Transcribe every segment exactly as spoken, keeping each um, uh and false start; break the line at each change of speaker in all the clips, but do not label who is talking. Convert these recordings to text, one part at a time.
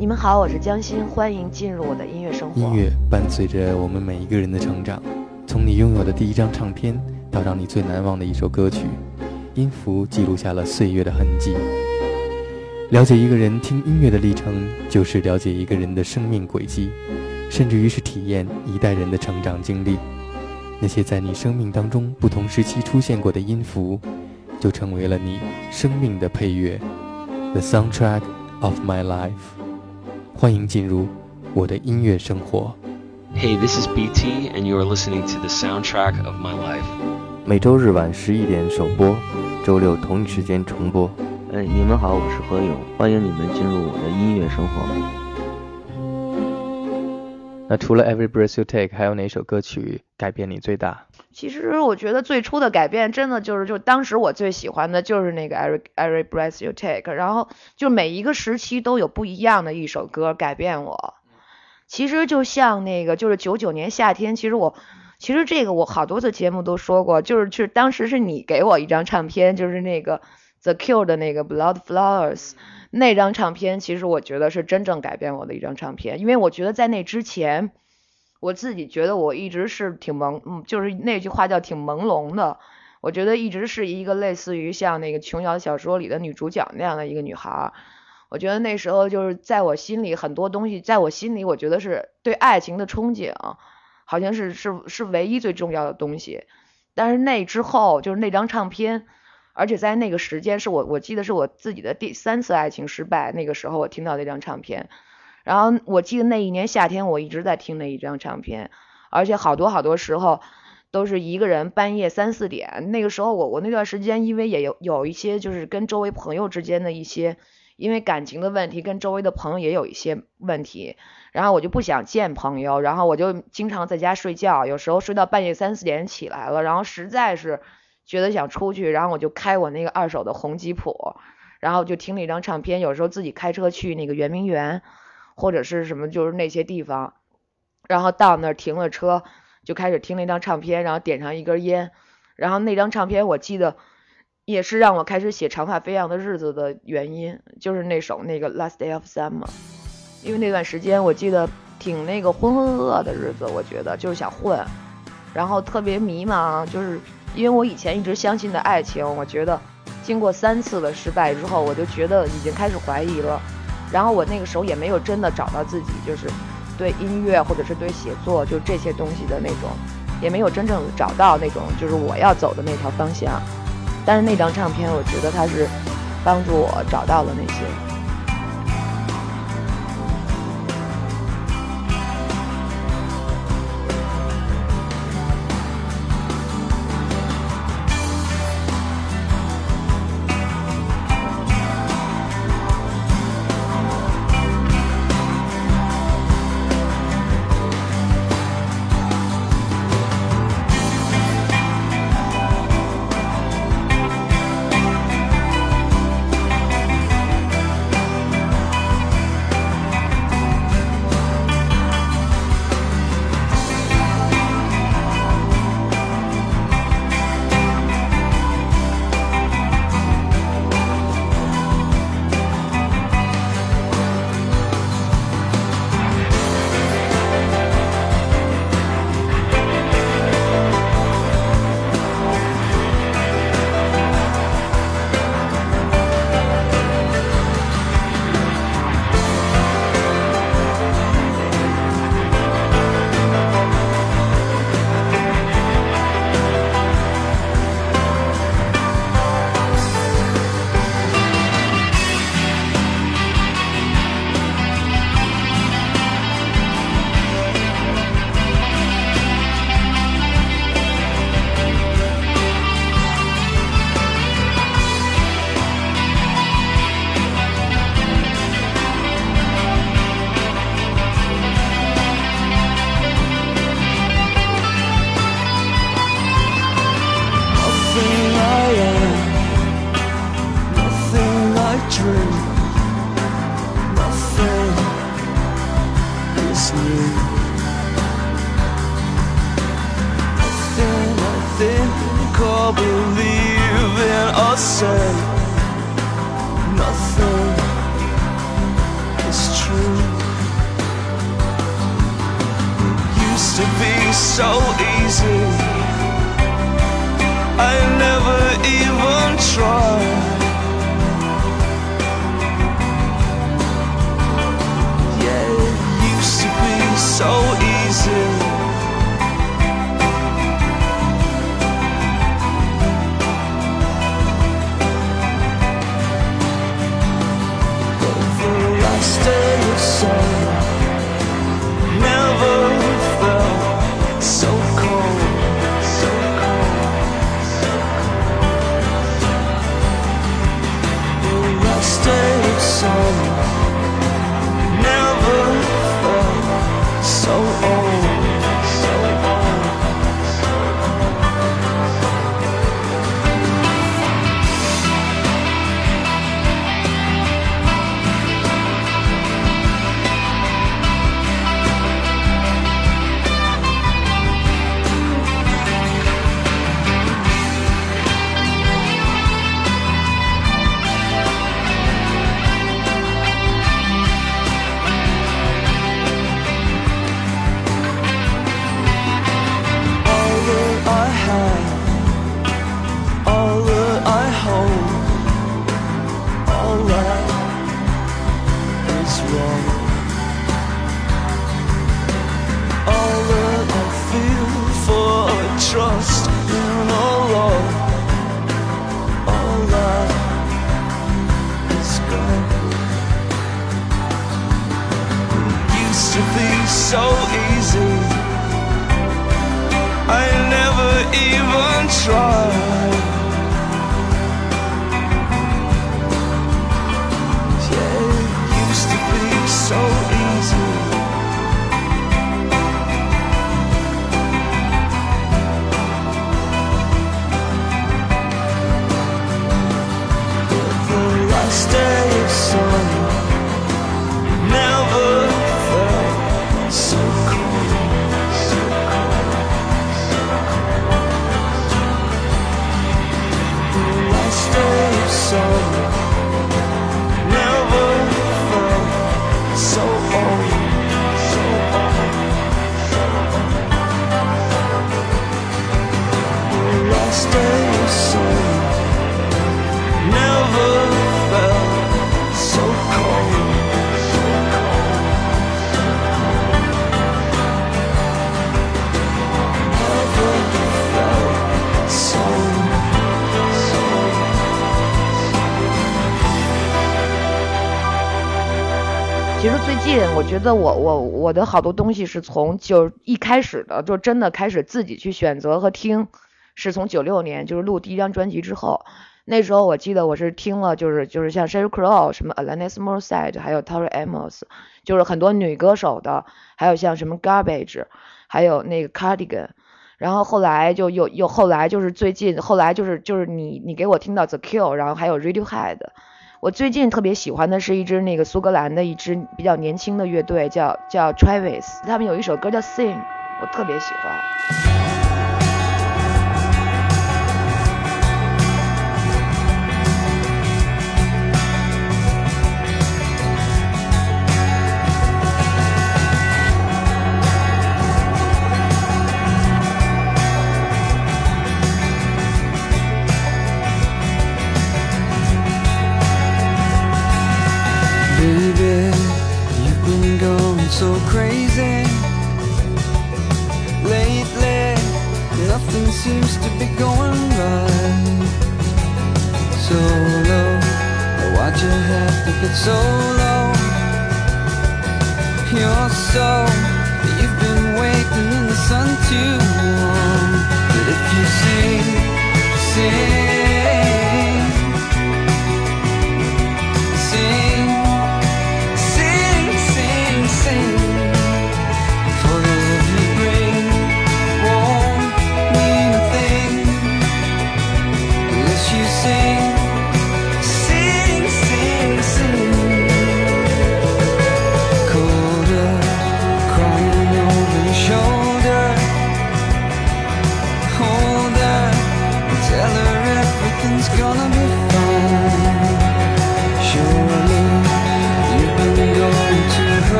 你们好，我是江欣，欢迎进入我的音乐生活。
音乐伴随着我们每一个人的成长，从你拥有的第一张唱片到让你最难忘的一首歌曲，音符记录下了岁月的痕迹。了解一个人听音乐的历程，就是了解一个人的生命轨迹，甚至于是体验一代人的成长经历。那些在你生命当中不同时期出现过的音符，就成为了你生命的配乐 The soundtrack of my life。 欢迎进入我的音乐生活。
Hey, this is B T and you are listening to the soundtrack of my life。
每周日晚十一点首播，周六同一时间重播。
哎，你们好，我是何勇，欢迎你们进入我的音乐生活。
那除了 Every Breath You Take， 还有哪首歌曲改变你最大？
其实我觉得最初的改变真的就是就当时我最喜欢的就是那个 Every, Every Breath You Take， 然后就每一个时期都有不一样的一首歌改变我。其实就像那个就是九九年夏天，其实我其实这个我好多次节目都说过，就是就是当时是你给我一张唱片，就是那个 The Cure 的那个 Blood Flowers， 那张唱片其实我觉得是真正改变我的一张唱片。因为我觉得在那之前我自己觉得我一直是挺朦嗯，就是那句话叫挺朦胧的，我觉得一直是一个类似于像那个琼瑶小说里的女主角那样的一个女孩。我觉得那时候就是在我心里很多东西，在我心里我觉得是对爱情的憧憬，好像是是是唯一最重要的东西。但是那之后就是那张唱片，而且在那个时间是我我记得是我自己的第三次爱情失败，那个时候我听到那张唱片，然后我记得那一年夏天我一直在听那一张唱片，而且好多好多时候都是一个人半夜三四点，那个时候我我那段时间因为也有有一些就是跟周围朋友之间的一些因为感情的问题，跟周围的朋友也有一些问题，然后我就不想见朋友，然后我就经常在家睡觉，有时候睡到半夜三四点起来了，然后实在是觉得想出去，然后我就开我那个二手的红吉普，然后就听那张唱片，有时候自己开车去那个圆明园或者是什么就是那些地方，然后到那儿停了车就开始听那张唱片，然后点上一根烟，然后那张唱片我记得也是让我开始写长发飞扬的日子的原因，就是那首那个 Last Day of Summer。 因为那段时间我记得挺那个浑浑噩噩的日子，我觉得就是想混，然后特别迷茫，就是因为我以前一直相信的爱情，我觉得经过三次的失败之后，我就觉得已经开始怀疑了，然后我那个时候也没有真的找到自己就是对音乐或者是对写作就这些东西的那种，也没有真正找到那种就是我要走的那条方向。但是那张唱片我觉得它是帮助我找到了那些。
or believe in or say nothing is true. so easy. I never even tried. Yeah, it used to be so easy. But the last day of summer never felt so cold, so cold, so cold. The last day of summer never felt so old, so old, so trust in all love, all that is gone. It used to be so easy. I never even tried. Yeah, it used to be so easy. Day of summer never felt so cold, so cold, so cold. The last day of summer never felt so old, so old, so old. The last day of summer never felt so cold, so cold, so cold. Never felt so, so.
其实最近我觉得我我我的好多东西是从就一开始的就真的开始自己去选择和听，是从九六年就是录第一张专辑之后。那时候我记得我是听了就是就是像 Sheryl Crow 什么 Alanis Morissette 还有 Tori Amos 就是很多女歌手的，还有像什么 Garbage 还有那个 Cardigan， 然后后来就又又后来就是最近后来就是就是你你给我听到 The Cure， 然后还有 Radiohead。 我最近特别喜欢的是一支那个苏格兰的一支比较年轻的乐队叫叫 Travis， 他们有一首歌叫 Sing， 我特別喜歡。
Baby, you've been going so crazy lately. Nothing seems to be going right. So low, why'd you have to get so low? You're so, you've been waiting in the sun too long. But if you sing, sing, sing, sing, sing, sing, for the love you bring won't mean a thing unless you sing, sing, sing, sing. Colder, crying over your shoulder, hold her, tell her everything.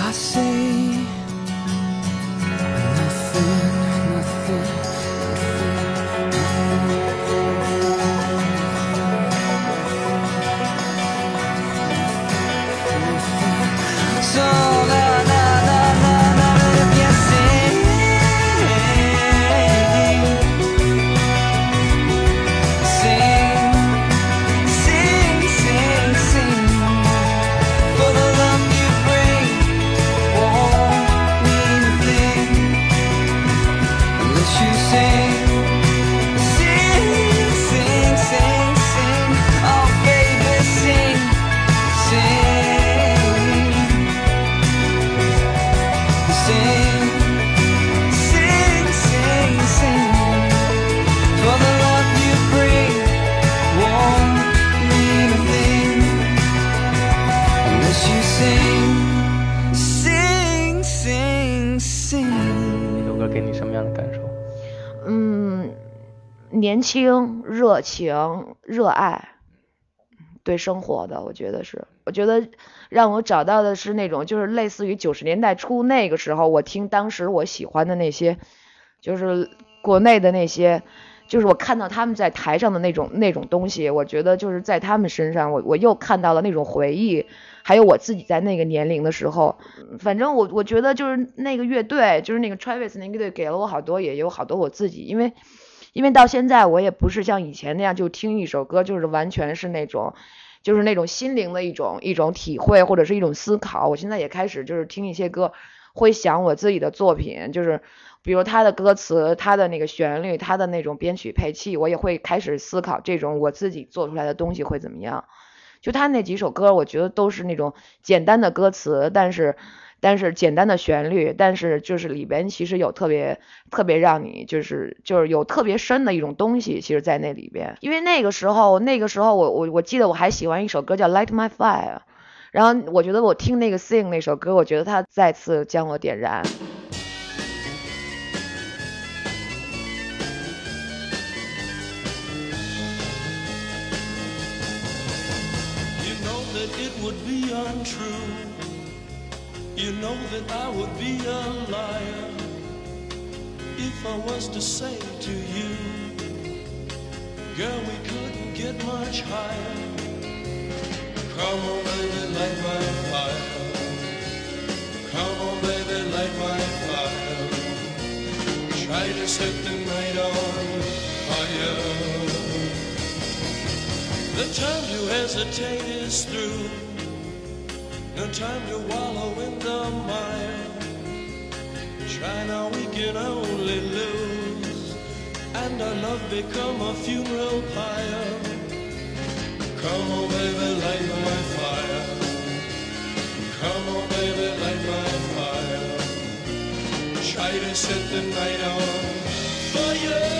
I say nothing, nothing, nothing. So la la la la la, if you sing, sing, sing, sing, sing. For the love you bring won't mean a thing unless you sing, sing, sing, sing, sing. Oh baby, sing, sing, sing, sing, sing, sing. For the love you bring won't mean a thing unless you sing, sing, sing, sing.
这首歌给你什么样的感受？
嗯，年轻、热情、热爱，对生活的，我觉得是，我觉得让我找到的是那种，就是类似于九十年代初那个时候，我听当时我喜欢的那些，就是国内的那些，就是我看到他们在台上的那种那种东西，我觉得就是在他们身上，我我又看到了那种回忆，还有我自己在那个年龄的时候，反正我我觉得就是那个乐队，就是那个 Travis 那个乐队给了我好多，也有好多我自己，因为因为到现在我也不是像以前那样就听一首歌就是完全是那种就是那种心灵的一种一种体会或者是一种思考，我现在也开始就是听一些歌会想我自己的作品，就是比如他的歌词，他的那个旋律，他的那种编曲配器，我也会开始思考这种我自己做出来的东西会怎么样。就他那几首歌我觉得都是那种简单的歌词，但是但是简单的旋律，但是就是里边其实有特别特别让你就是就是有特别深的一种东西，其实在那里边。因为那个时候那个时候我我我记得我还喜欢一首歌叫 Light My Fire， 然后我觉得我听那个 Sing 那首歌，我觉得他再次将我点燃。
It would be untrue. You know that I would be a liar if I was to say to you, girl, we couldn't get much higher. Come on, baby, light my fire. Come on, baby, light my fire. Try to set the night on fire. The time to hesitate is through. No time to wallow in the mire. Try now, we can only lose, and our love become a funeral pyre. Come on, baby, light my fire. Come on, baby, light my fire. Try to set the night on fire.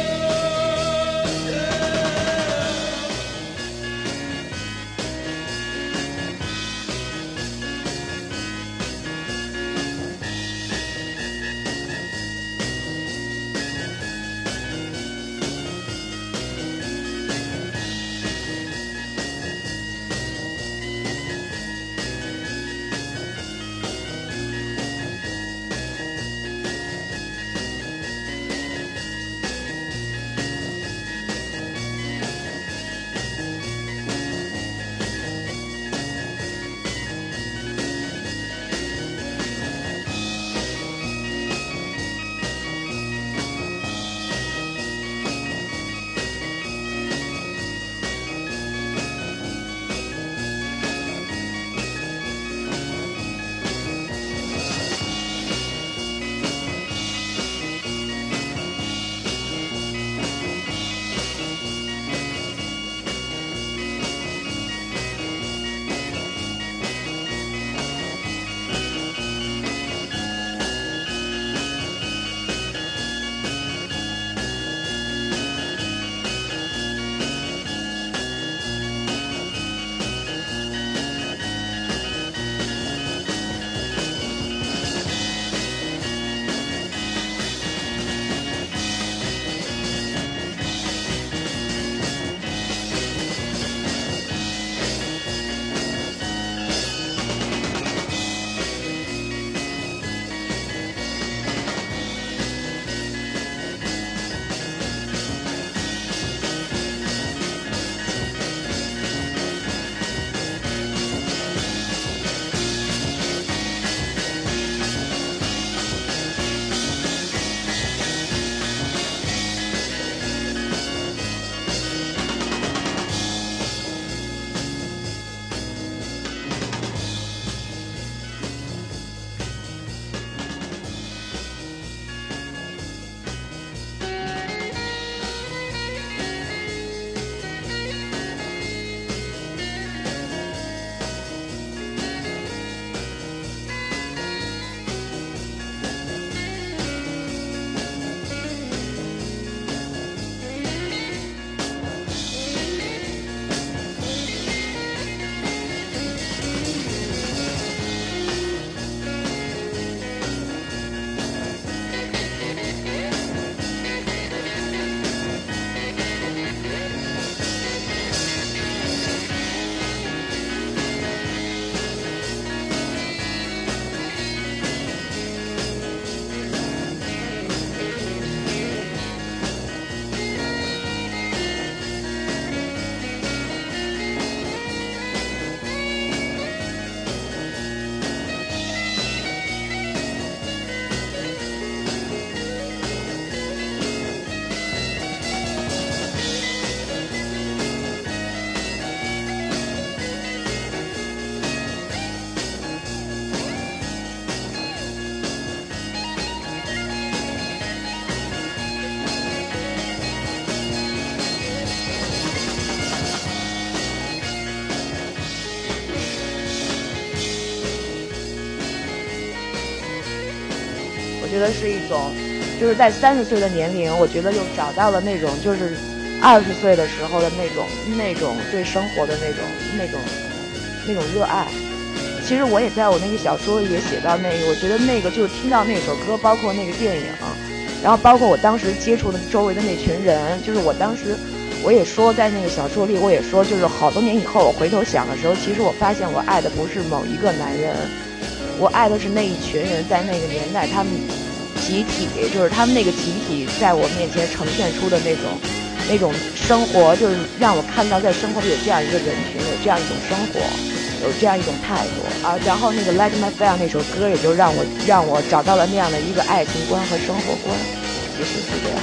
觉得是一种，就是在三十岁的年龄，我觉得又找到了那种就是二十岁的时候的那种那种对生活的那种那种那种热爱。其实我也在我那个小说里也写到那个，我觉得那个就是听到那首歌，包括那个电影，然后包括我当时接触的周围的那群人，就是我当时我也说在那个小说里，我也说就是好多年以后我回头想的时候，其实我发现我爱的不是某一个男人，我爱的是那一群人，在那个年代他们集体，就是他们那个集体在我面前呈现出的那种那种生活，就是让我看到在生活里有这样一个人群，有这样一种生活，有这样一种态度啊。然后那个 Light My Fire 那首歌也就让我让我找到了那样的一个爱情观和生活观，其实是这样。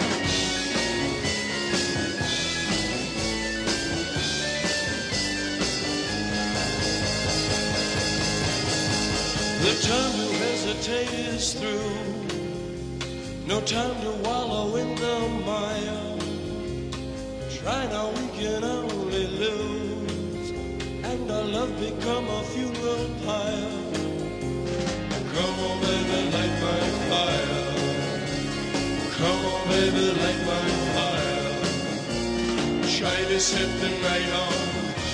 The time to hesitate is through. No time to wallow in the mire. Try now, we can only lose, and our love become a funeral pyre. Come on, baby, light my fire. Come on, baby, light my fire. Try to set the night on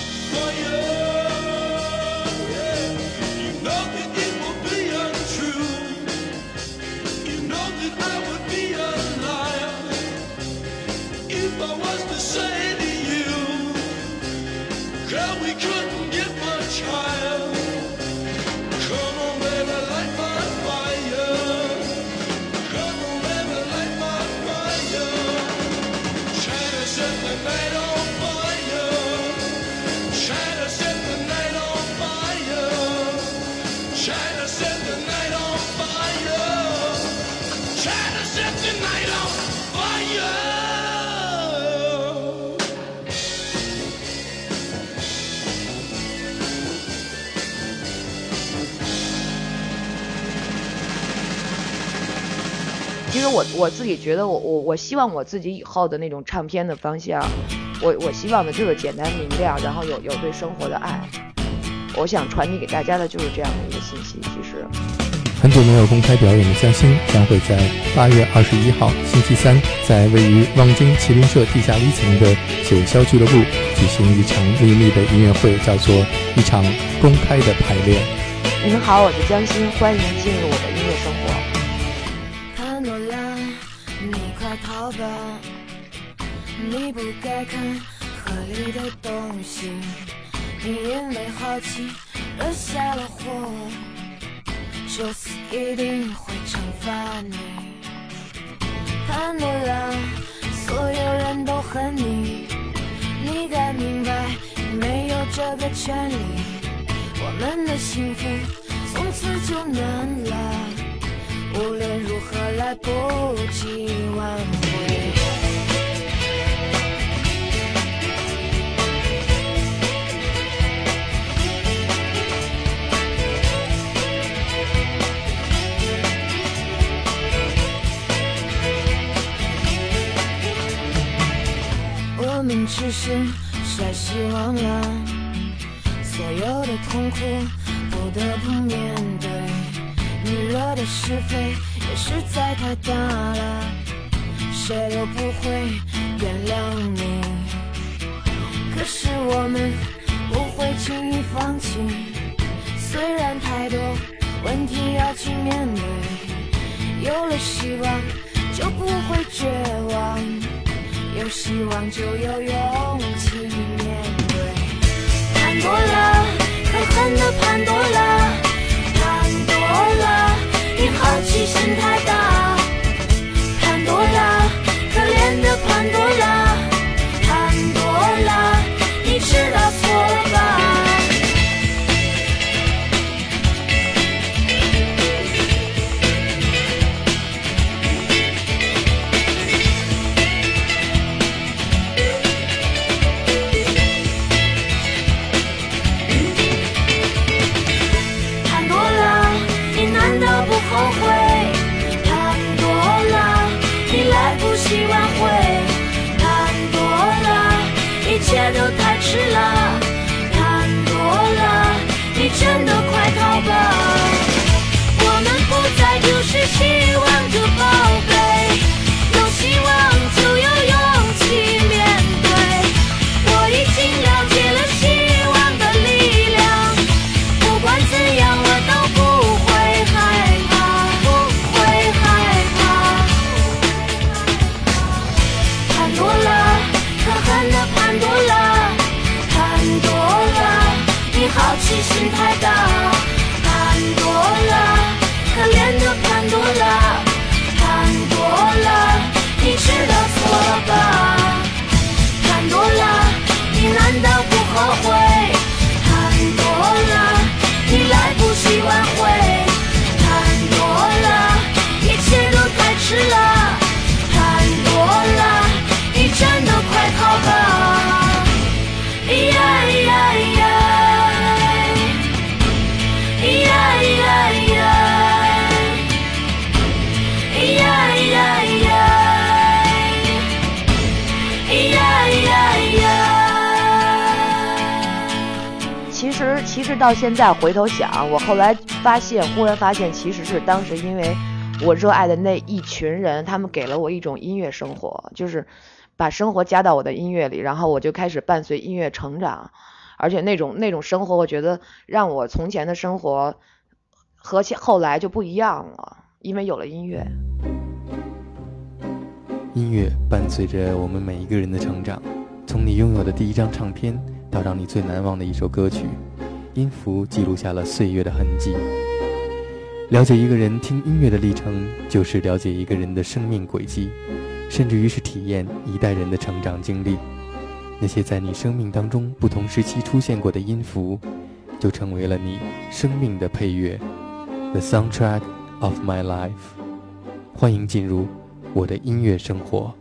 fire。其实我我自己觉得我我我希望我自己以后的那种唱片的方向，我我希望的就是简单明亮，然后有有对生活的爱。我想传递给大家的就是这样的一个信息。其实
很久没有公开表演的江心将会在八月二十一号星期三，在位于望京麒麟社地下一层的九霄俱乐部举行一场秘密的音乐会，叫做一场公开的排练。
您好，我是江心，欢迎进入我的音乐生活。
潘多拉，你快逃吧，你不该看河里的东西，你因为好奇惹下了祸，就死一定会惩罚你。潘多拉，所有人都恨你，你该明白你没有这个权利，我们的幸福从此就难了，无论如何来不及挽回。我们只是太希望了，所有的痛苦不得不面对，你惹的是非也实在太大了，谁都不会原谅你。可是我们不会轻易放弃，虽然太多问题要去面对，有了希望就不会绝望，有希望就有勇气面对。潘多拉，可恨的潘多拉，潘多拉，你好奇心太大。潘多拉，可怜的潘多拉，潘多拉，你知道错了吧？ 拉，潘多拉，可怜的潘多拉，潘多拉，你知道错了吧？潘多拉，你难道不后悔？潘多拉，你来不及挽回。潘多拉，一切都太迟了。潘多拉，你真的快逃吧！咿呀咿呀咿呀，咿呀咿呀咿呀，咿呀咿呀咿呀，咿呀咿呀咿呀。
其实，其实到现在回头想，我后来发现，忽然发现，其实是当时因为我热爱的那一群人，他们给了我一种音乐生活，就是把生活加到我的音乐里，然后我就开始伴随音乐成长，而且那种那种生活，我觉得让我从前的生活和后来就不一样了，因为有了音乐。
音乐伴随着我们每一个人的成长，从你拥有的第一张唱片到让你最难忘的一首歌曲，音符记录下了岁月的痕迹。了解一个人听音乐的历程，就是了解一个人的生命轨迹，甚至于是体验一代人的成长经历。那些在你生命当中不同时期出现过的音符，就成为了你生命的配乐 The soundtrack of my life。 欢迎进入我的音乐生活。